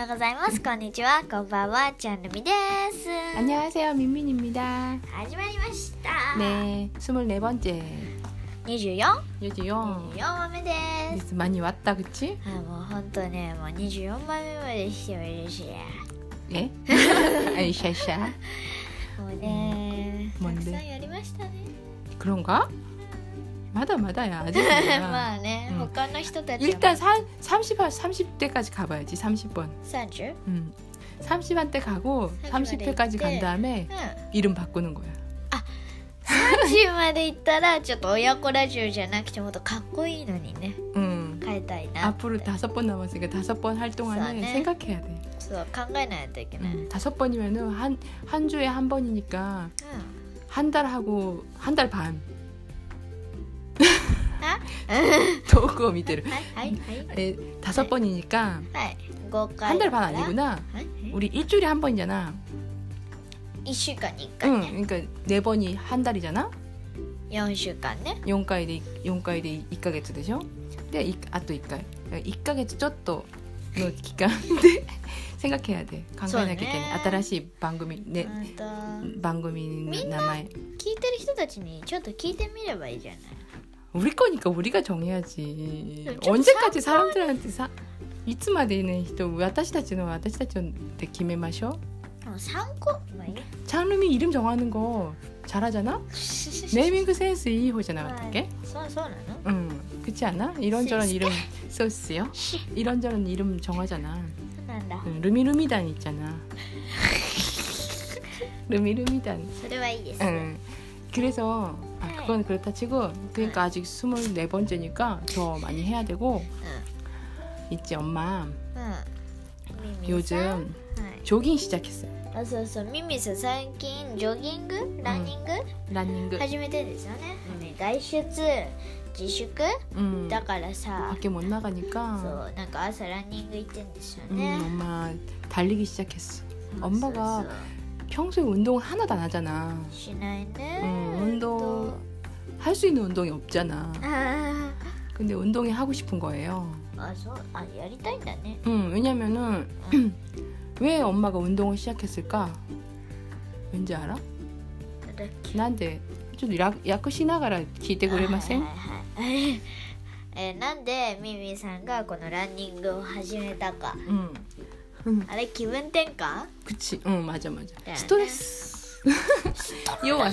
ようございます。こんにちは、こんばんは、ちゃんるみです。 안녕하세요, 민민입니다. 始まりました。 네, 24번째. 24? 24. 24話目です。 리스 많이 왔다, 그치? もうほんとね、もう24話目までしてもいるし 예? 아이, 샤샤. もうね、たく 뭔데? さんやりましたね。 그런가? 마다마다야, 아직. まあね、他の人たちは 일단 30대까지 가봐야지, 30번. 30? 30번 때 가고 30회까지 간 다음에 이름 바꾸는 거야. 30まで行ったらちょっと親子ラジオじゃなくてもっとかっこいいのにね、 変えたいなって。 앞으로 5번 남았으니까 5번 할 동안에 네. 생각해야 돼. そう考えないといけない。 5번이면은 한 주에 한 번이니까 한 달 하고 한 달 반. 遠くを見てる。 はいはいはい 5번이니까 はい5回 한 달 반 아니구나. 우리 일주일에 한 번이잖아. 1週間に1回 응, ね、 그러니까 4번이 한 달이잖아. 4週間ね。 4回で 1ヶ月 되죠? 근데 아 또 1回. 1ヶ月 ちょっとの期間で 생각해야 돼. 考えなきゃいけない。新しい番組ね、番組の名前。 聞いてる人たちにちょっと聞いてみればいいじゃない。 우리 거니까 우리가 정해야지. 좀 언제까지 사람들한테 이츠마데는 또 私たちで決めましょう. 参考、まあいい。 장르미 이름 정하는 거 잘하잖아? 네이밍 센스 いい方じゃなかったっけ? そうなの? 응, 그렇지 않아? 이런저런 이름 썼어요? 이런저런 이름 정하잖아. そうなんだ。 루미루미단 있잖아. 루미루미단. それはいいです。 응. 그래서 그건 그렇다 치고 그러니까 아직 24번째니까 더 많이 해야 되고 있지 엄마 요즘 조깅 시작했어요. そうそう、ミミさん最近ジョギング、ランニング、 러닝 始めてですよね。外出自粛、だからさ、 밖에 못 나가니까 そうなんか朝ランニング行ってんですよね。 엄마 달리기 시작했어. 엄마가 평소에 운동 하나도 안 하잖아. しないね。 운동 할 수 있는 운동이 없잖아. あ 근데 운동이 하고 싶은 거예요. そう、やりたいんだね。 왜냐면은 왜 엄마가 운동을 시작했을까? 왠지 알아? だっけ。 난데 좀訳しながら聞いてくれません? なんでミミさんがこのランニングを始めたか。 あれ気分転換？ 그치. 응, 맞아. 네. 스트레스. 요와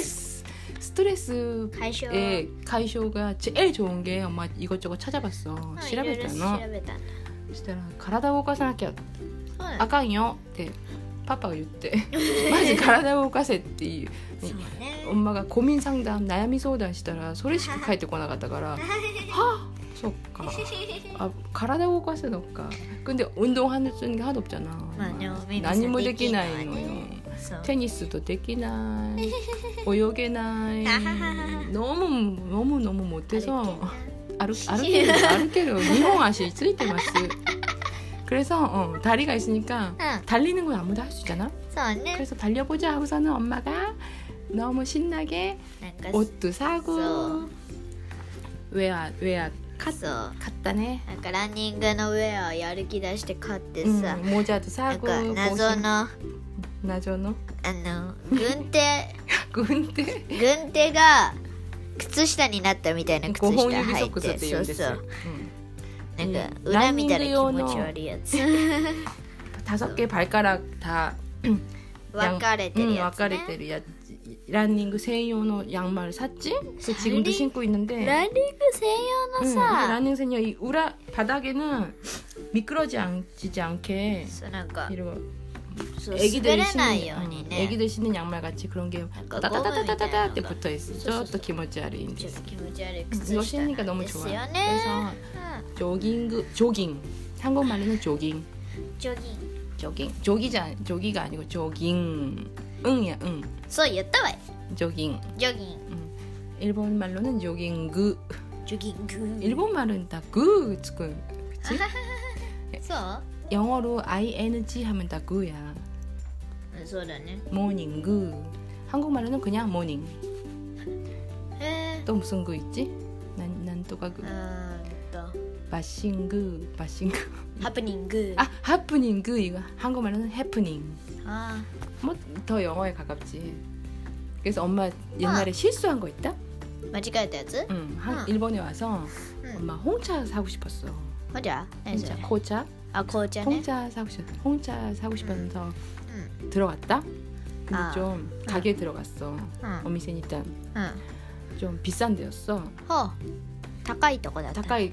스트레스의解消가 제일 좋은 게 엄마 이것저것 찾아봤어. 調べたの。 そしたら体を動かさなきゃあかんよってパパが言ってまず体を動かせっていう엄마가 고민 상담悩み相談したらそれしか返ってこなかったからはあそっかあ体を動かすのか근데 운동하는 게 하나도 없잖아.何もできないのよ. 테니스도 できない泳げない너무 못해서歩ける 2번足ついてます. 그래서 다리가 있으니까 달리는 건 아무도 할 수 있잖아. 그래서 달려보자 하고서는 엄마가 너무 신나게 옷도 사고 웨어買ったね. なんかランニングのウェアやる気出して買ってさ、 모자도 なん 사고 か謎の軍手が靴下になったみたいな靴下履いて、そうそうなんか裏見たら気持ち悪いやつ 5개 발가락 다 分かれてるやつね。 러닝専用の 양말을 샀지? 그래서 지금도 신고 있는데 ランニング専用のさ、 러닝専用이 우라 바닥에는 미끄러지지 않게 そうなんか 이러고 そう滑れないようにね。 애기들 신는 양말 같이 그런 게 따따따따따따って 붙어 있어. ちょっと気持ち悪いんです. 気持ち悪い靴 이거 下 신으니까 なん 너무 です 좋아. よね。 그래서 조깅 한국말로는 조깅 ジョギング 조기가 아니고 조깅 응이야 응 そう言ったわい。 조깅 ジョギン 일본 말로는 조깅그 ジョギング 일본 말은 다 그 그치? そう 영어로 ing 하면 다 그야 そうだね。 모닝 그 한국말로는 그냥 모닝 へえ。 또 무슨 그 있지? 난 또 그 바싱그 하프닝그. 아 하프닝그 이거 한국말로는 해프닝. 아. 뭐 더 영어에 가깝지. 그래서 엄마 옛날에 실수한 거 있다? 間違えたやつ? 응. 일본에 와서 엄마 홍차 사고 싶었어. 맞아. 홍차, 고차. 아, 고차네. 홍차 사고 싶어서 들어갔다. 근데 좀 가게에 들어갔어. 어미센 일단 좀 비싼 데였어. 高いとこだった。 가까이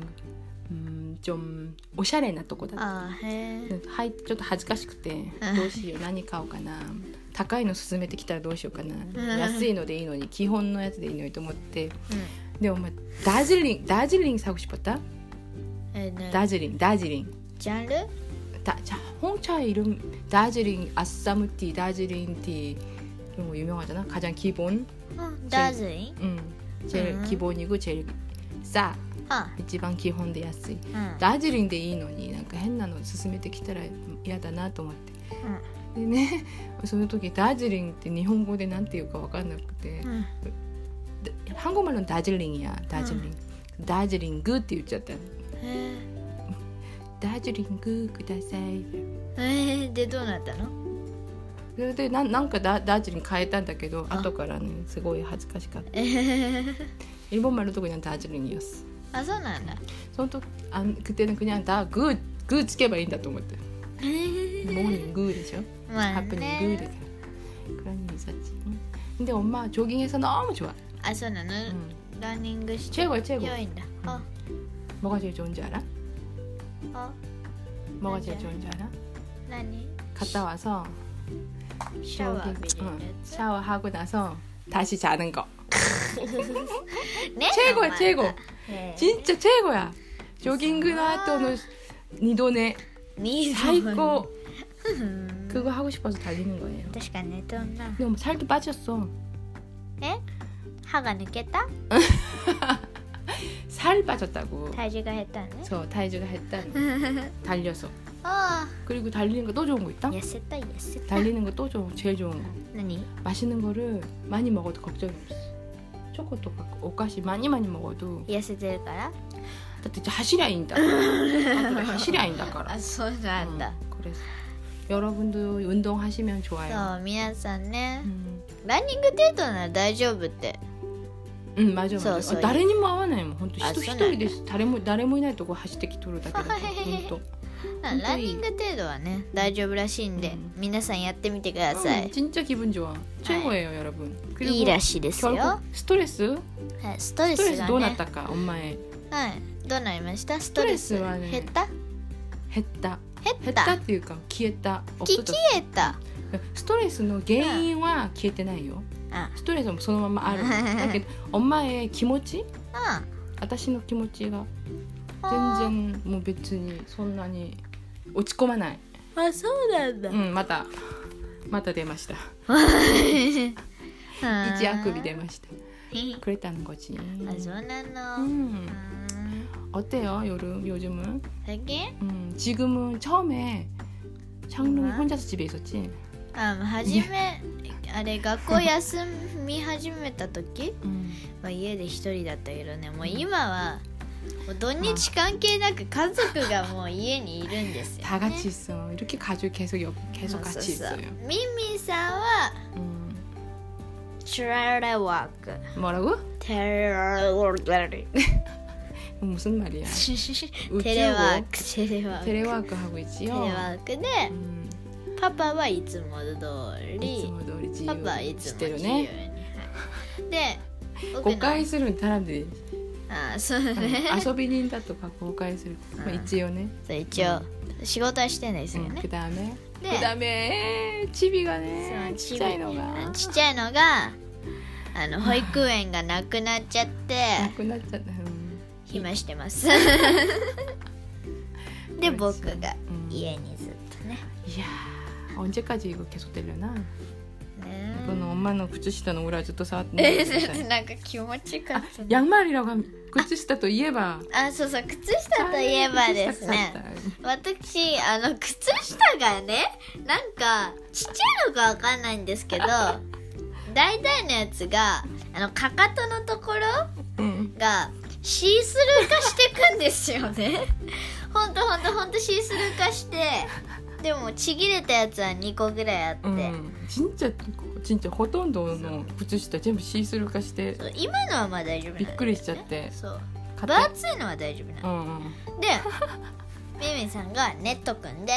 좀 오샤레나とこだった。 あへえ。 はい、ちょっと恥ずかしくてどうしよう何買おうかな。高いの勧めてきたらどうしようかな。安いのでいいのに基本のやつでいいのにと思って。でもダージリン사고 싶었다. 다지링. 장르? 홍차 이름 다지링 아싸무티 다지링티 이런 거 유명하잖아. 가장 기본. 다지링? 제일 기본이고 제일 싸. 一番基本で安い。ダージリンでいいのになんか変なの勧めてきたら嫌だなと思って。でね、その時ダージリンって日本語でなんていうか分かんなくて、한국말로는 다질링이야. 다질링.って言っちゃった。다질링ください。 でどうなったの？ それでなんかダージリン変えたんだけど、後からねすごい恥ずかしかった。일본말로 도 그냥 다질링이었어. 아, そうなんだ. 그때는 그냥 다 그 쓰게봐 인다 또思って. 모닝 그죠? 하프닝 그래. 그런 일이 있었지. 근데 엄마 조깅해서 너무 좋아. 아, そうなの? 러닝 최고야, 최고. 좋아인다. 뭐가 제일 좋은지 알아? 뭐가 제일 맞아. 좋은지 알아? 何? 갔다 와서 샤워하고 나서 다시 자는 거. 네? 최고야 최고. 진짜 최고야. 조깅後の 2도네 최고. 그거 하고 싶어서 달리는 거예요. 確かにどんな. 근데 뭐 살도 빠졌어. 에? 하가抜けた? 살 빠졌다고. 体重が減ったね. 体重が減った. 달려서. 아. 그리고 달리는 거 또 좋은 거 있다? 痩せた. 달리는 거 또 제일 좋은 거. 何? 맛있는 거를 많이 먹어도 걱정이 없어. 초코도 오카시 많이 먹어도 痩せてるから? 다って走りゃいいんだから。走りゃいいんだから。 あ、そうなんだ。 그래서 여러분도 운동하시면 좋아요. そう、皆さんね。ランニング程度なら大丈夫って。 맞아. 誰にも会わないもん。本当一人で誰もいないとこ走ってきとるだけだから。本当。 ランニング程度はね大丈夫らしいんで、皆さんやってみてください。 진짜 기분 좋아. 최고예요, 여러분. いいらしいですよ。 스트레스? ストレスがね。 どうなったか、엄마의. はい。どうなりました？ストレスはね。減った？ 減ったっていうか消えた。 消えた。 ストレスの原因は消えてないよ。ストレスもそのままある。だけど엄마의気持ち？私の気持ちが全然もう別にそんなに落ち込まない。 あ、そうなんだ。 また出ました。一あくび出ました。그랬다는 거지. 아, そうなの. 어때요, 요즘은? 되게? 지금은 처음에 창릉이 혼자서 집에 있었지? 初めあれ学校休み始めた時、家で一人だったけどね、もう今はもう土日関係なく家族がもう家にいるんですよね。 다 같이 있어. 이렇게 가족이 계속 같이 있어요. 미미さんは테레워크. 뭐라고? 테레워크. 무슨 말이야? 테레워크 하고 있지요. 테레워크でパパはいつも通りパパはいつも自由にで誤解する사람들이 そうね遊び人だとか誤解する一応ね一応仕事はしてないですよね 그다음에 집이가ねちっちゃいのが保育園がなくなっちゃって暇してますで僕が家にずっとねいや언제까지 이거 계속되려나? 이거는 엄마는 구찌시다는 오라ずっと触ってなんか気持ちかった。 양말이라고 하면 구찌시다といえばそう靴下といえばですね。私靴下がね、なんかちっちゃいのかわかんないんですけど、大体のやつがかかとのところがシースルー化してくんですよねほんとシースルー化して、でもちぎれたやつは2個ぐらいあって、 진짜ほとんどの靴下全部シースルー化して、 今のはまあ大丈夫なんだよね。 びっくりしちゃって、 そう分厚いのは大丈夫なの、でミミさんがネット組んで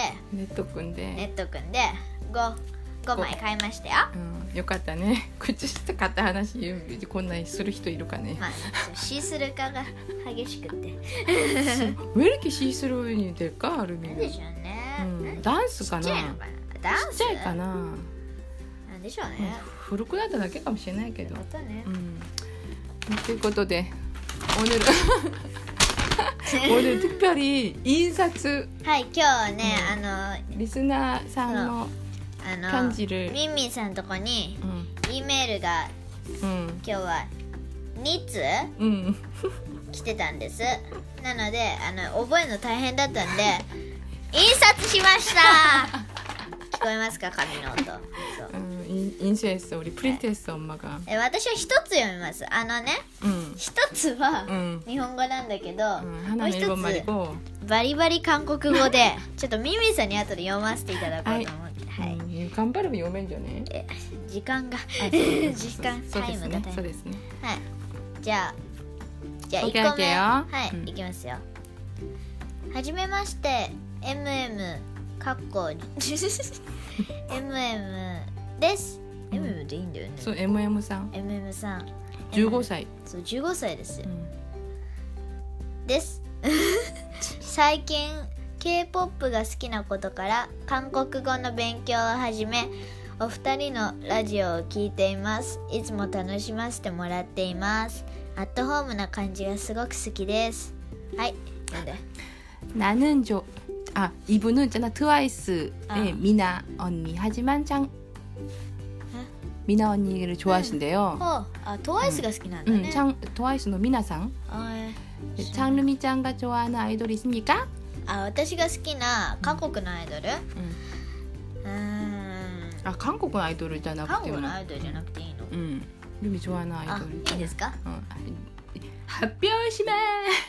5枚買いましたよ、 よかったね。靴下買った話こんなにする人いるかね。 まあ、シースルー化が激しくて 왜 이렇게シースルーに될까? なんでしょうね、 ダンスかな。 ちっちゃいのかな。ダンスちっちゃいかな。 なんでしょうね、 古くなっただけかもしれないけど。 ね、 ということで오늘 특별히 인사츠 はい、今日はね、 リスナーさんの편지를 ミンミンさんのとこに E メールが、今日は2通、来てたんです。なので覚えるの大変だったんで印刷しました聞こえますか、紙の音。そう、 인쇄했어. 우리 프린트했어, 엄마가. 私は一つ読みます。一つは日本語なんだけど、もう一つバリバリ韓国語でちょっとミミさんに後で読ませていただこうと思って、はい。 頑張れば読めんじゃね。 時間がタイムがそうですね。 はい。じゃあ1個目、はい、いきますよ。はじめまして、MM かっこMM です。MM でいいんだよね。 そう、MM さん。 MM さん。 15歳。 そう、15歳ですよ。です。最近 K-POP が好きなことから韓国語の勉強を始め、お二人のラジオを聞いています。いつも楽しませてもらっています。アットホームな感じがすごく好きです。はい。なんで 나는 이분은 있잖아. 트와이스의 미나 언니. 하지만 미나 언니를 좋아하신대요. 트와이스가 好きなんだね. 트와이스의 미나상. 장르미ちゃんが 좋아하는 아이돌이 있습니까? 私が好きな韓国のアイドル? 한국 아이돌じゃなくても. 한국アイドルじゃなくていいの? 루미 좋아하는 아이돌. いいですか? 発表しま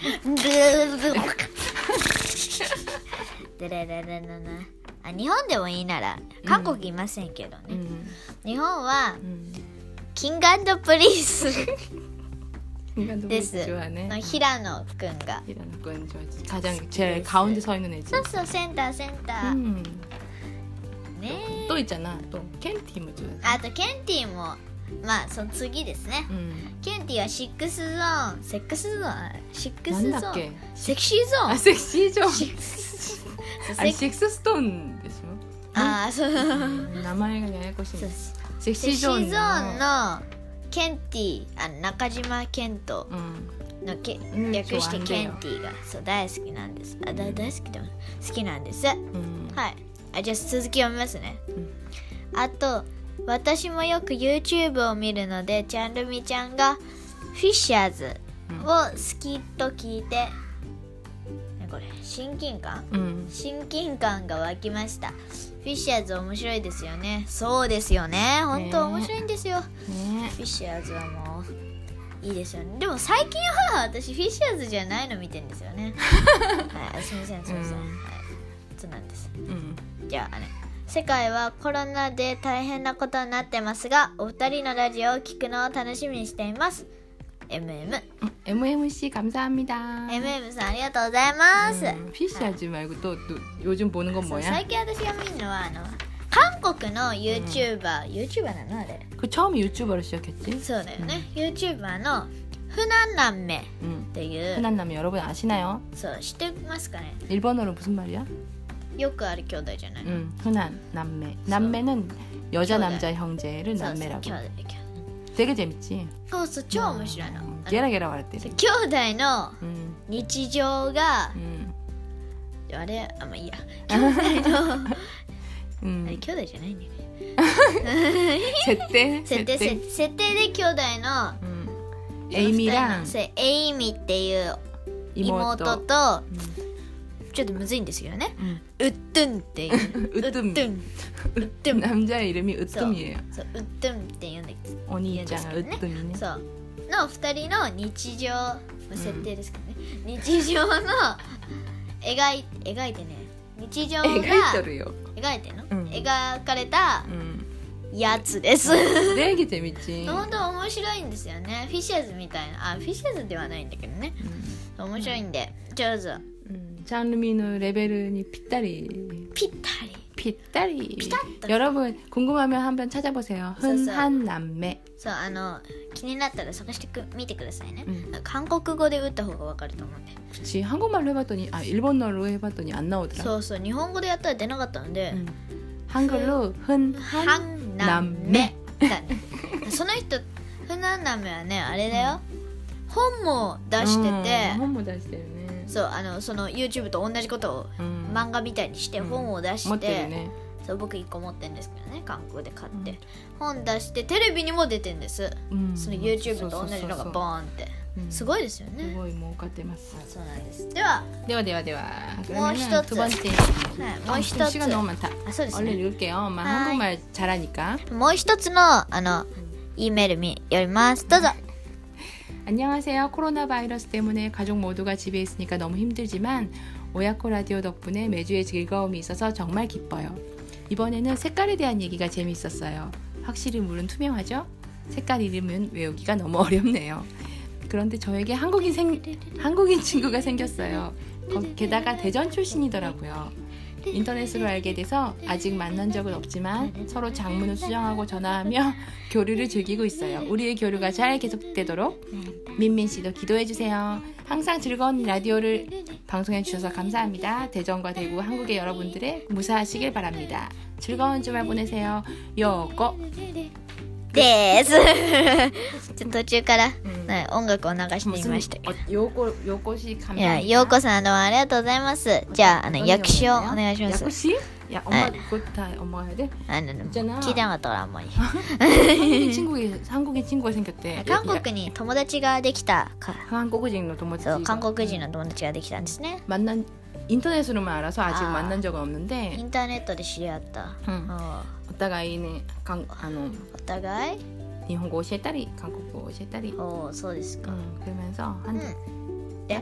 日本でもいいなら韓国いませんけどね、日本は、キング&プリンスです。平野くんが 가장 제일 가운데 서 있는 애지. そうそう、センター、ねえ。또 있잖아. 또 켄티もあとケンティもまあその次ですね、ケンティはシックスゾーンセクスゾーンセクシーゾーンセクシーゾーンあれシックスストーンでしょ。 そう名前がややこしい。 セクシーゾーンのケンティ中島健人の略してケンティがそう大好きなんです。大好きでも好きなんです、はい。じゃあ続き読みますね、あと私もよく YouTube を見るので、チャンルミちゃんがフィッシャーズを好きと聞いて、これ親近感が湧きました。フィッシャーズ面白いですよね。そうですよね、本当面白いんですよ、フィッシャーズはもういいですよね。でも最近は私フィッシャーズじゃないの見てるんですよねはい、すみません、はい、そうなんです、じゃあ世界はコロナで大変なことになってますが、お二人のラジオを聞くのを楽しみにしています。 MMC 감사합니다. MMさんありがとうございます。 피시하지 말고 또 요즘 보는 건 뭐야? 最近私が見るのは韓国の YouTuber なのあれ。 그 처음에 유튜버로 시작했지? そうだよね。YouTuber の흔한남매っていう。 흔한남매 여러분 아시나요? そう知ってますかね? 일본어로 무슨 말이야? よくある兄弟じゃない。 흔한남매. 남매는 여자 남자 형제를 남매라고. 되게 재밌지? そう超面白いの。 ゲラゲラ笑ってる。 兄弟の日常が、あれまあいいや。兄弟のあれ兄弟じゃないんだよね。設定で兄弟のエイミエイミっていう妹とちょっとむずいんですけどね。ウッドゥンっていう。ウッドゥン。 남자의 이름이 으뜸이에요. そう、ウッドゥンって言うんだけど。 お兄ちゃんがウッドゥンね。 そう。の二人の日常設定ですけどね、日常の描いてね、日常が描いてるよ、 描いてんの、 うん描かれたやつです。 되게 재밌지。 本当面白いんですよね。フィッシャーズみたいな、フィッシャーズではないんだけどね、面白いんでどうぞ。 장르미의 레벨이 핏다리. 여러분 궁금하면 한번 찾아보세요. 흔한 남매. そう気になったら探してみてくださいね。韓国語で打った方がわかると思うんで。 그치. 한국말로 해봤더니 일본어로 해봤더니 안 나오더라. そうそう、日本語でやったら出なかったので、 한글로 흔한 남매. その人흔한 남매はね、あれだよ、本も出してて、 本も出してるね。 そうその YouTube と同じことを漫画みたいにして本を出して、 持ってるね。 そう僕1個持ってるんですけどね、韓国で買って、本出してテレビにも出てんです、その YouTube と同じのがボーンって、すごいですよね。 すごい儲かってます。 そうなんです。ではもう一つ、 두 번째. もう一つ、 시간 너무 많다. そうですね、 얼른 읽을게요. 한국말 잘하니까. もう一つのEメール読みます。どうぞ。 안녕하세요. 코로나 바이러스 때문에 가족 모두가 집에 있으니까 너무 힘들지만 오야코 라디오 덕분에 매주에 즐거움이 있어서 정말 기뻐요. 이번에는 색깔에 대한 얘기가 재미있었어요. 확실히 물은 투명하죠? 색깔 이름은 외우기가 너무 어렵네요. 그런데 저에게 한국인 친구가 생겼어요. 게다가 대전 출신이더라고요. 인터넷으로 알게 돼서 아직 만난 적은 없지만 서로 장문을 수정하고 전화하며 교류를 즐기고 있어요. 우리의 교류가 잘 계속되도록 민민 씨도 기도해 주세요. 항상 즐거운 라디오를 방송해 주셔서 감사합니다. 대전과 대구 한국의 여러분들의 무사하시길 바랍니다. 즐거운 주말 보내세요. 요거 です。ちょっと途中から、音楽を流してみましたけど。 よこし감사합니다。 いや、ようこさんどうもありがとうございます。じゃあ訳詞をお願いします。 訳詞？야, 엄마 그거 다 엄마가 해야 돼? 있잖아.聞いてなかったからあんまり。 한국인 친구가 생겼대. 韓国に友達ができたか。 한국인の友達。 そう、韓国人の友達ができたんですね。 인터넷으로만 알아서 아직 만난 적은 없는데. インターネットで知り合った。 お互いね、 お互い 일본어教えたり韓国語教えたり。 お、そうですか。 그러면서 한 네?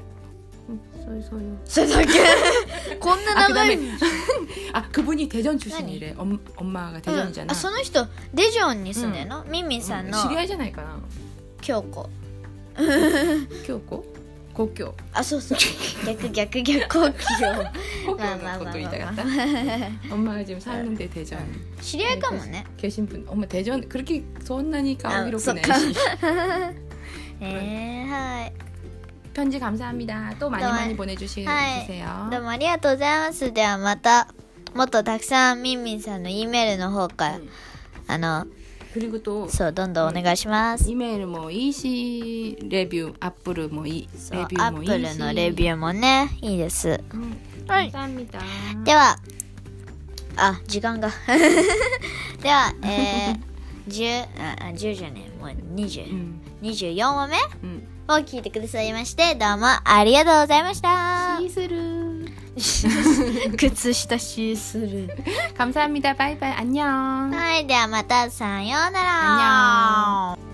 소유. それだけ。こんな長い。 그분이 대전 출신이래. 엄마가 대전이잖아. その人デジョンに住んでるの？ミンミンさんの。 知り合いじゃないかな。 京子。 京子？故郷。 あ、そうそう。逆故郷。 故郷のこと言いたかった。 엄마가 지금 사는데 대전. 知り合いかもね。 계신 분. 엄마 대전 그렇게 손나니 가오기로구나. はい。 편지 감사합니다. 또 많이 보내주세요. どうもありがとうございます。ではまたもっとたくさんミンミンさんの Eメールの方から 그리고 또 そうどんどんお願いします。 이메일 뭐 이시 레뷰 애플 뭐 이 레뷰 뭐 이시 애플のレビューもねいいです。 감사합니다. では時間がでは10じゃねえもう24話目を聞いてくださいましてどうもありがとうございました。 シースルー靴下シースルー 감사합니다. 바이바이 안녕. はい、ではまたさようなら。